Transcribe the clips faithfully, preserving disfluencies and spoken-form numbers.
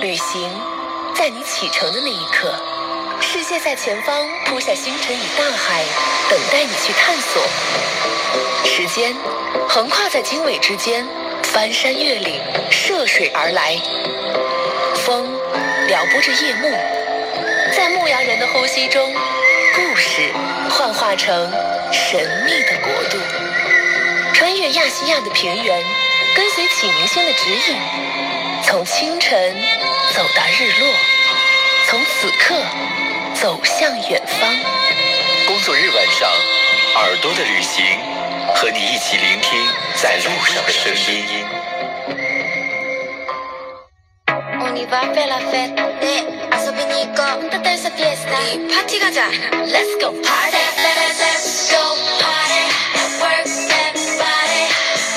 旅行在你启程的那一刻，世界在前方铺下星辰与大海，等待你去探索。时间横跨在经纬之间，翻山越岭，涉水而来。风撩拨着夜幕，在牧羊人的呼吸中，故事幻化成神秘的国度。穿越亚细亚的平原，跟随启明星的指引，从清晨走到日落，从此刻走向远方。 工作日晚上，耳朵的旅行，和你一起聆聽在路上的聲音。 Let's go party, let's go party, work that body.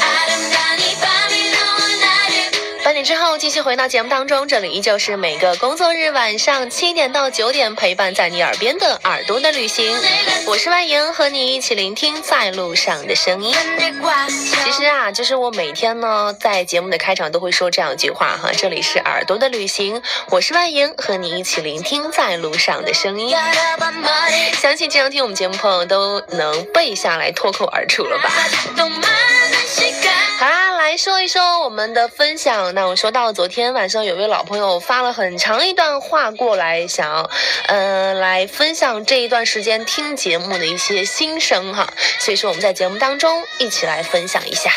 八点之后继续回到节目当中，这里依旧是每个工作日晚上七点到九点陪伴在你耳边的耳朵的旅行，我是万莹，和你一起聆听在路上的声音。其实啊，就是我每天呢在节目的开场都会说这样一句话哈，这里是耳朵的旅行，我是万莹，和你一起聆听在路上的声音。相信这样听我们节目朋友都能背下来，脱口而出了吧。好啦，来说一说我们的分享。那我说到昨天晚上有位老朋友发了很长一段话过来，想要呃来分享这一段时间听节目的一些心声哈，所以说我们在节目当中一起来分享一下。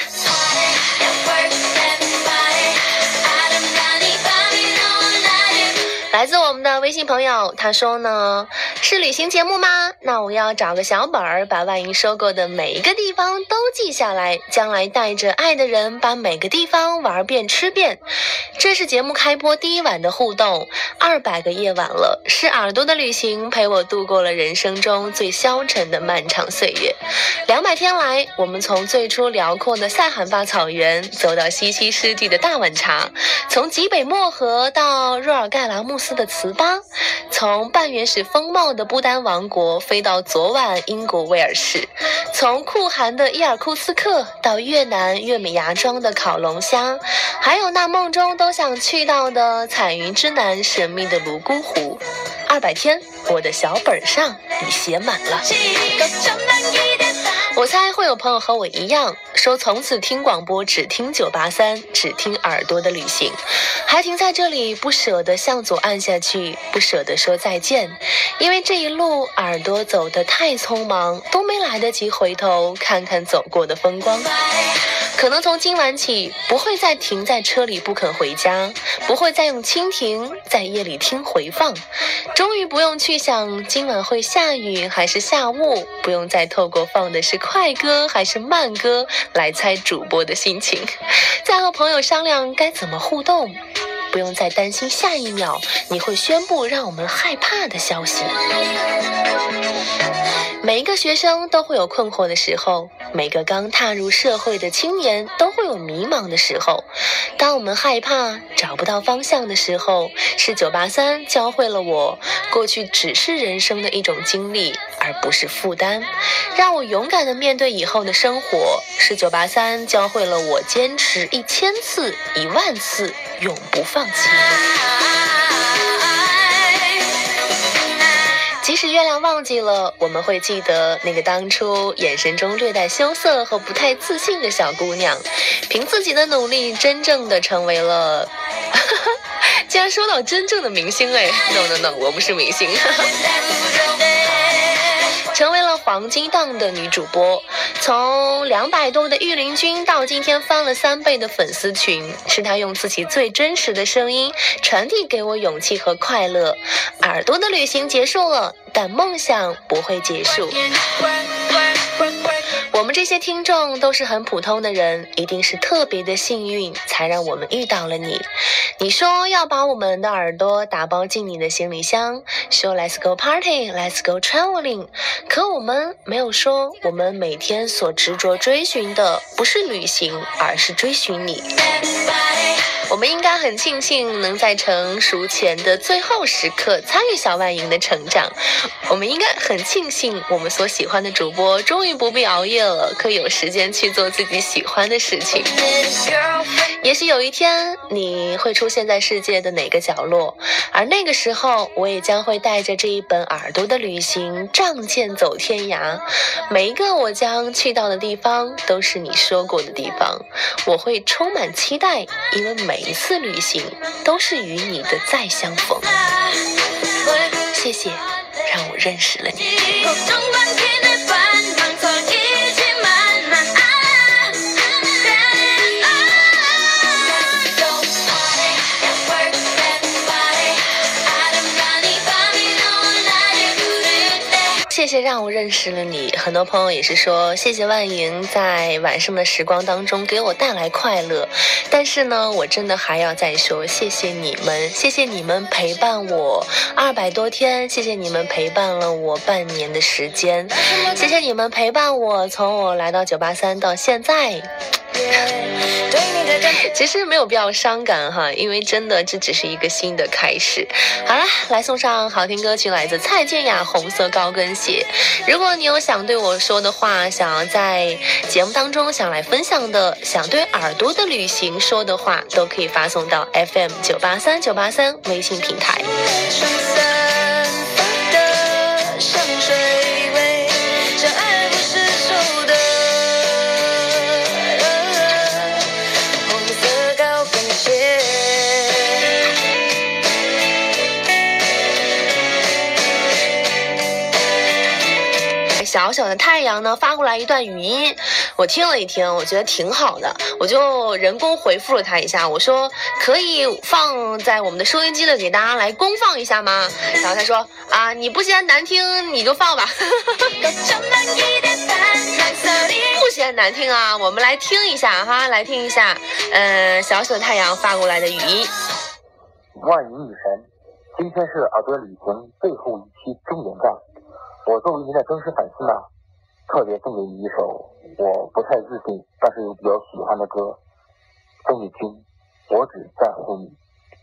来自我们的微信朋友，他说呢，是旅行节目吗？那我要找个小本儿，把万莹说过的每一个地方都记下来，将来带着爱的人把每个地方玩遍吃遍。这是节目开播第一晚的互动，二百个夜晚了，是耳朵的旅行陪我度过了人生中最消沉的漫长岁月。两百天来，我们从最初辽阔的塞罕坝草原走到西溪湿地的大碗茶，从极北漠河到若尔盖拉穆斯的糍粑，从半原始风貌的不丹王国飞到昨晚英国威尔士，从酷寒的伊尔库斯克到越南月美芽庄的烤龙虾，还有那梦中都想去到的彩云之南神秘的泸沽湖。二百天，我的小本上已写满了。我猜会有朋友和我一样，说从此听广播只听九八三，只听耳朵的旅行，还停在这里，不舍得向左按下去，不舍得说再见，因为这一路耳朵走得太匆忙，都没来得及回头看看走过的风光。可能从今晚起，不会再停在车里不肯回家，不会再用蜻蜓在夜里听回放，终于不用去想今晚会下雨还是下雾，不用再透过放的是快歌还是慢歌来猜主播的心情，再和朋友商量该怎么互动，不用再担心下一秒你会宣布让我们害怕的消息。每一个学生都会有困惑的时候，每个刚踏入社会的青年都会有迷茫的时候。当我们害怕找不到方向的时候，是九八三教会了我，过去只是人生的一种经历，而不是负担，让我勇敢地面对以后的生活。是九八三教会了我，坚持一千次一万次永不放弃。即使月亮忘记了，我们会记得那个当初眼神中略带羞涩和不太自信的小姑娘，凭自己的努力真正的成为了竟然说到真正的明星哎 no no no 我不是明星成为了黄金档的女主播，从两百多的御林军到今天翻了三倍的粉丝群，是她用自己最真实的声音传递给我勇气和快乐。耳朵的旅行结束了，但梦想不会结束。我们这些听众都是很普通的人，一定是特别的幸运才让我们遇到了你。你说要把我们的耳朵打包进你的行李箱，说 Let's go party, Let's go traveling， 可我们没有说我们每天所执着追寻的不是旅行，而是追寻你。我们应该很庆幸能在成熟前的最后时刻参与小万莹的成长，我们应该很庆幸我们所喜欢的主播终于不必熬夜了，可以有时间去做自己喜欢的事情。 也许有一天你会出现在世界的哪个角落，而那个时候我也将会带着这一本耳朵的旅行仗剑走天涯，每一个我将去到的地方都是你说过的地方，我会充满期待，因为每一次旅行都是与你的再相逢。谢谢让我认识了你。谢谢让我认识了你，很多朋友也是说谢谢万莹在晚上的时光当中给我带来快乐，但是呢我真的还要再说谢谢你们，谢谢你们陪伴我二百多天，谢谢你们陪伴了我半年的时间，谢谢你们陪伴我从我来到九八三到现在。其实没有必要伤感哈，因为真的这只是一个新的开始。好了，来送上好听歌曲，来自蔡健雅《红色高跟鞋》。如果你有想对我说的话，想要在节目当中想来分享的，想对耳朵的旅行说的话，都可以发送到 F M 九八三九八三 微信平台。小小的太阳呢发过来一段语音，我听了一听，我觉得挺好的，我就人工回复了他一下，我说可以放在我们的收音机里给大家来公放一下吗？然后他说啊，你不嫌难听你就放吧。不嫌难听啊，我们来听一下哈，来听一下呃，小小的太阳发过来的语音。 万语女神，今天是耳朵旅行最后一期终点站，我作为您的忠实粉丝呢，特别送给你一首我不太自信但是又比较喜欢的歌，邓丽君《我只在乎你》。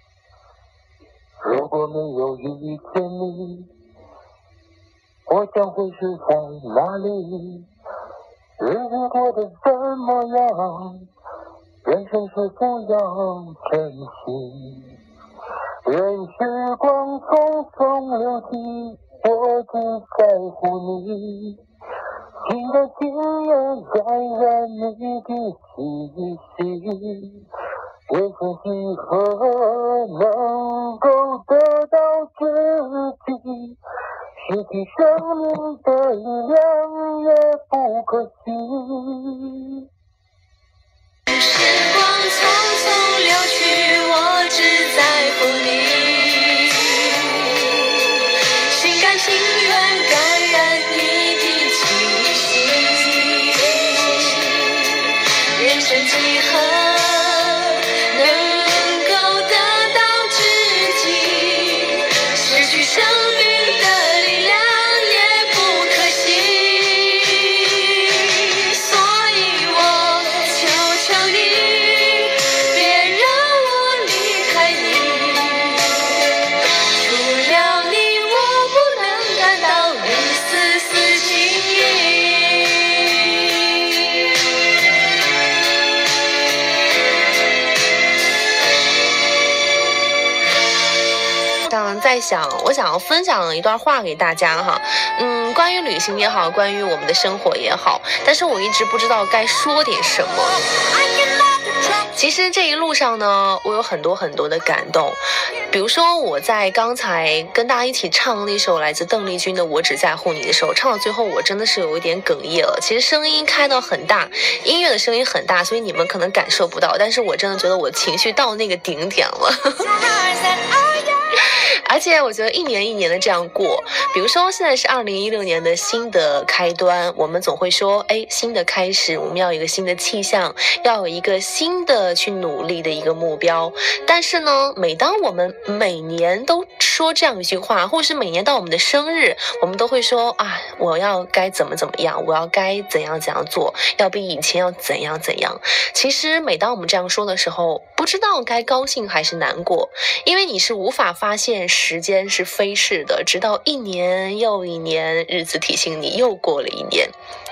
如果没有遇见你，我将会是在哪里？日子过得怎么样？人生是否要珍惜？任时光匆匆流逝，我只在乎你，心甘情愿感染你的气息。人生几何能够得到自己，失去生命的力量也不可惜。 时光匆匆流去，我只在乎你，心甘情愿感染你的气息。人生几何能够得到知己，失去生命的力量也不可惜。所以我求求你，别让我离开你，除了你我不能感到一丝丝情意。 在想我想要分享一段话给大家哈，嗯，关于旅行也好，关于我们的生活也好，但是我一直不知道该说点什么。其实这一路上呢，我有很多很多的感动，比如说我在刚才跟大家一起唱那首来自邓丽君的《我只在乎你》的时候，唱到最后我真的是有一点哽咽了。其实声音开到很大，音乐的声音很大，所以你们可能感受不到，但是我真的觉得我情绪到那个顶点了。而且我觉得一年一年的这样过，比如说现在是二零一六年的新的开端，我们总会说哎，新的开始，我们要有一个新的气象，要有一个新的去努力的一个目标。但是呢，每当我们每年都说这样一句话，或是每年到我们的生日，我们都会说啊，我要该怎么怎么样，我要该怎样怎样做，要比以前要怎样怎样。其实每当我们这样说的时候，不知道该高兴还是难过，因为你是无法发现时间是飞逝的，直到一年又一年，日子提醒你又过了一年。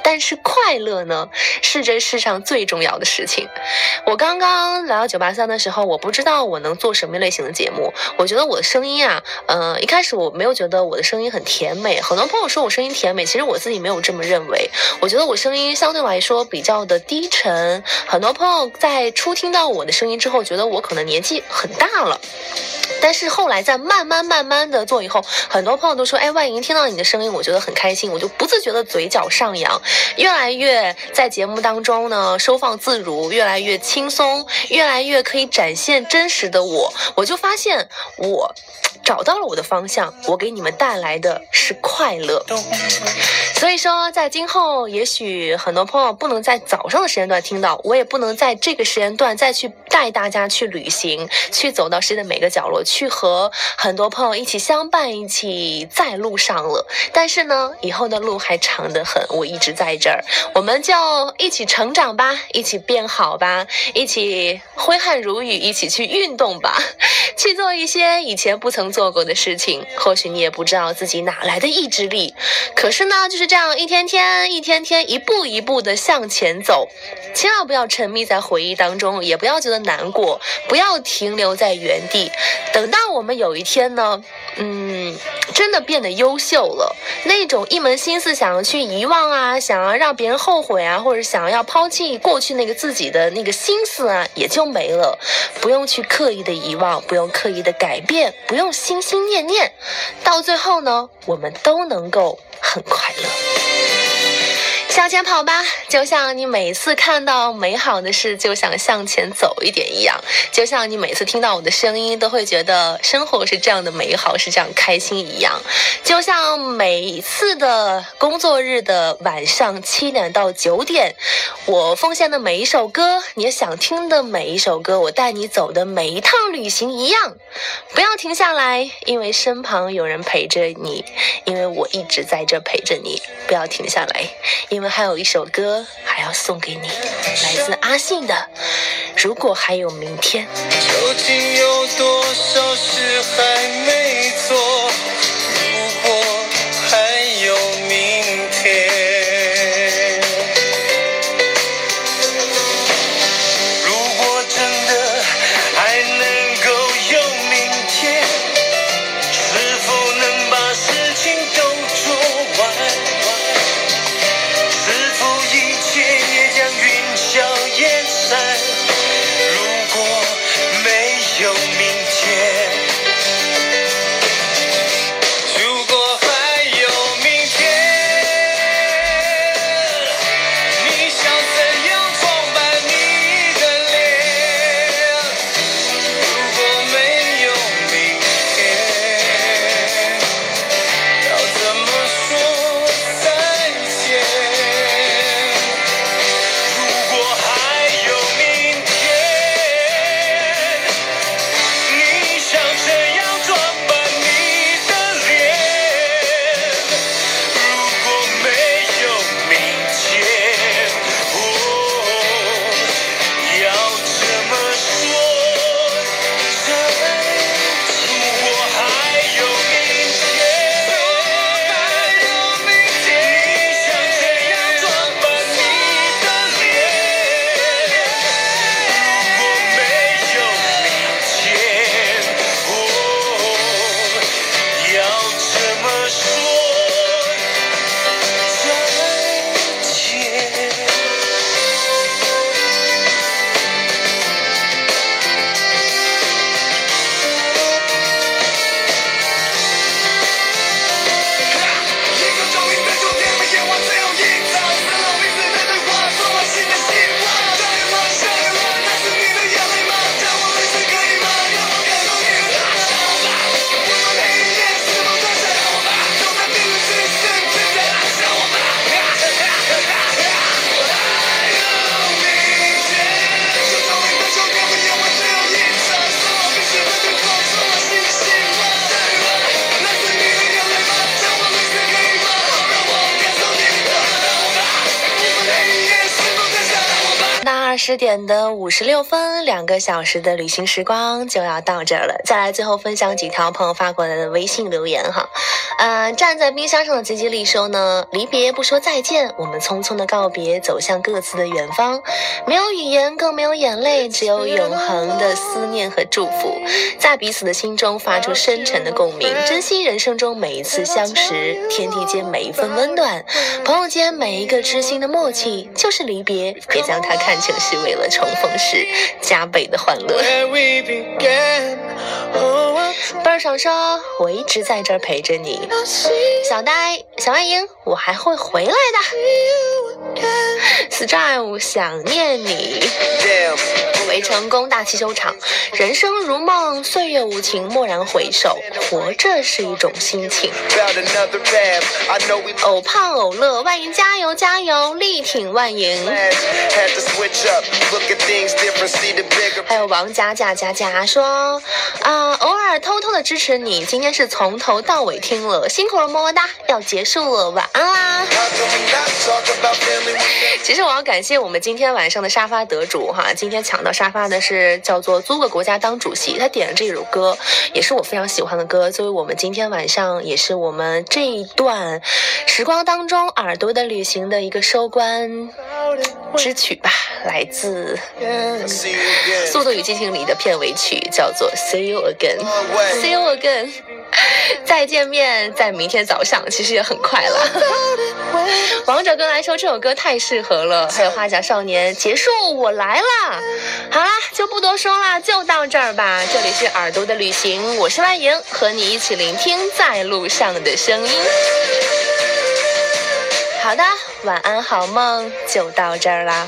但是快乐呢，是这世上最重要的事情。我刚刚来到九八三的时候，我不知道我能做什么类型的节目。我觉得我的声音啊，呃，一开始我没有觉得我的声音很甜美。很多朋友说我声音甜美，其实我自己没有这么认为。我觉得我声音相对来说比较的低沉。很多朋友在初听到我的声音之后，觉得我可能年纪很大了。但是后来在慢慢慢慢的做以后，很多朋友都说，哎，万莹听到你的声音，我觉得很开心，我就不自觉的嘴角上扬，越来越在节目当中呢收放自如，越来越轻松，越来越可以展现真实的我。我就发现我找到了我的方向，我给你们带来的是快乐。所以说在今后也许很多朋友不能在早上的时间段听到，我也不能在这个时间段再去带大家去旅行，去走到世界的每个角落，去和很多朋友一起相伴，一起在路上了。但是呢，以后的路还长得很，我一直在这儿，我们就一起成长吧，一起变好吧，一起挥汗如雨，一起去运动吧，去做一些以前不曾做过的事情。或许你也不知道自己哪来的意志力，可是呢，就是这样一天天一天天一步一步的向前走。千万不要沉迷在回忆当中，也不要觉得难过，不要停留在原地。等到我们有一天呢，嗯，真的变得优秀了，那种一门心思想要去遗忘啊，想要让别人后悔啊，或者想要抛弃过去那个自己的那个心思啊，也就没了。不用去刻意的遗忘，不用刻意的改变，不用心心念念，到最后呢，我们都能够很快乐。向前跑吧，就像你每次看到美好的事就想向前走一点一样，就像你每次听到我的声音都会觉得生活是这样的美好，是这样开心一样，就像每次的工作日的晚上七点到九点，我奉献的每一首歌，你也想听的每一首歌，我带你走的每一趟旅行一样。不要停下来，因为身旁有人陪着你，因为我一直在这陪着你。不要停下来，因为还有一首歌还要送给你，来自阿信的《如果还有明天》。 究竟有多少事还没做？如果还有明天，如果真的还能够有明天，是否能把事情都做完？是否一切也将云消烟散？如果没有明天， 十点的五十六分，两个小时的旅行时光就要到这儿了。再来最后分享几条朋友发过来的微信留言哈。呃，站在冰箱上的吉吉利说呢，离别不说再见，我们匆匆的告别，走向各自的远方，没有语言，更没有眼泪，只有永恒的思念和祝福，在彼此的心中发出深沉的共鸣，珍惜人生中每一次相识，天地间每一份温暖，朋友间每一个知心的默契，就是离别，别将它看成是为了重逢时加倍的欢乐。贝儿爽说，我一直在这儿陪着你，小呆小外莹，我还会回来的。Strive 想念你。围成功大气收场，人生如梦，岁月无情，蓦然回首，活着是一种心情。偶胖偶乐，万莹加油加油，力挺万莹。还有王佳佳佳佳说啊、呃，偶尔偷偷的支持你，今天是从头到尾听了，辛苦了，么么哒，要结束了，晚安啦。其实我要感谢我们今天晚上的沙发得主哈，今天抢到沙发的是叫做租个国家当主席，他点了这首歌，也是我非常喜欢的歌，作为我们今天晚上也是我们这一段时光当中耳朵的旅行的一个收官之曲吧，来自《速度与激情》里的片尾曲，叫做 See You Again See You Again 再见面，在明天早上，其实也很快了。王者哥来说这首歌太适合了，还有花甲少年结束我来了。好啦，就不多说了，就到这儿吧。这里是耳朵的旅行，我是万莹，和你一起聆听在路上的声音。好的，晚安好梦，就到这儿啦。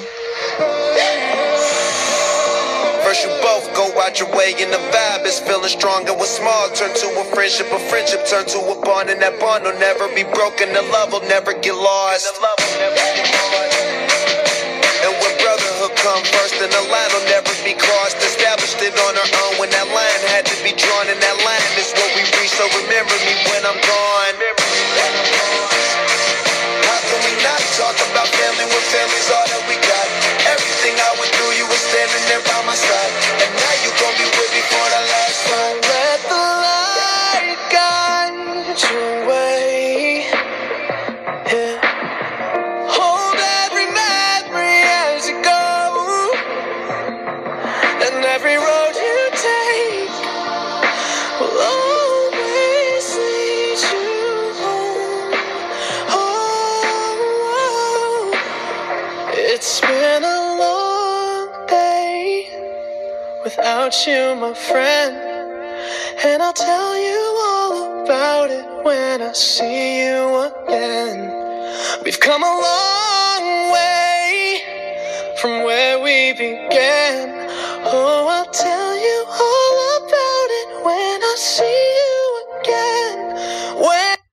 First you both go out your way and the vibe is feeling stronger with small turn to a friendship, a friendship turn to a bond, and that bond will never be broken, the love will never get lost. And when brotherhood come first, then the line will never be crossed. Established it on our own when that line had to be drawn, and that line is what we reach, so remember me when I'm gone. How can we not talk about family when family's all that we got? Everything I went through, you were standing there by my side, and now you gon' be with me for the last time. Let the light guide your way. Yeah. Hold every memory as you go, and every road you take will always lead you home. Oh, it's been a without you, my friend, and I'll tell you all about it when I see you again. We've come a long way from where we began. Oh, I'll tell